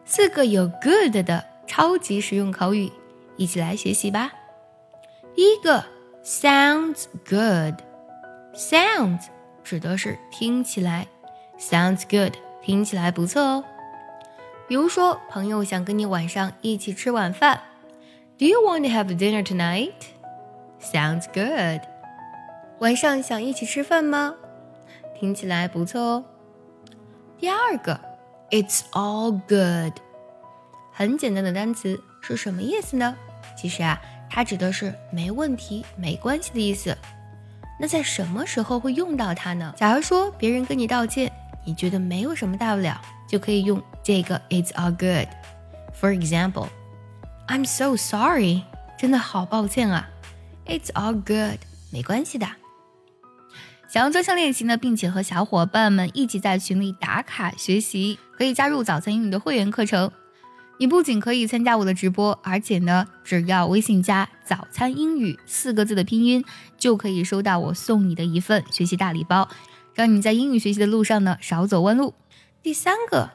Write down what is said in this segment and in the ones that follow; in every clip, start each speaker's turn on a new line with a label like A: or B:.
A: 4个有 good 的超级实用口语，一起来学习吧。第一个 sounds good， sounds 指的是听起来， sounds good 听起来不错哦。比如说朋友想跟你晚上一起吃晚饭， Do you want to have dinner tonight? Sounds good。 晚上想一起吃饭吗？听起来不错哦。第二个 It's all good， 很简单的单词，是什么意思呢？其实它指的是没问题没关系的意思。那在什么时候会用到它呢？假如说别人跟你道歉，你觉得没有什么大不了，就可以用这个 It's all good。 For example, I'm so sorry， 真的好抱歉啊。 It's all good， 没关系的。想要专项练习呢，并且和小伙伴们一起在群里打卡学习，可以加入早餐英语的会员课程。你不仅可以参加我的直播，而且呢，只要微信加早餐英语4个字的拼音，就可以收到我送你的一份学习大礼包，让你在英语学习的路上呢少走弯路。第三个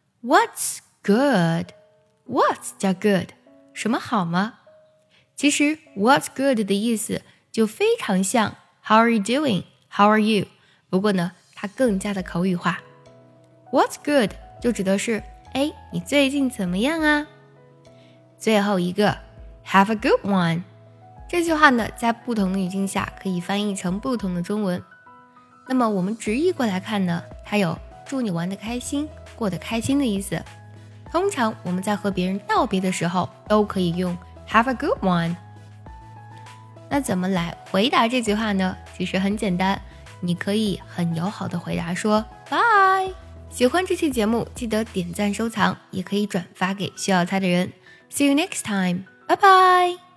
A: What's good， What's 加 good， 什么好吗？其实 What's good 的意思就非常像 How are you doing？ How are you？ 不过呢，它更加的口语化。 What's good 就指的是你最近怎么样啊？最后一个 Have a good one， 这句话呢，在不同的语境下可以翻译成不同的中文。那么我们直译过来看呢，它有祝你玩得开心，过得开心的意思。通常我们在和别人道别的时候，都可以用 Have a good one。 那怎么来回答这句话呢？其实很简单，你可以很友好的回答说 Bye。喜欢这期节目，记得点赞收藏，也可以转发给需要它的人。See you next time. Bye bye.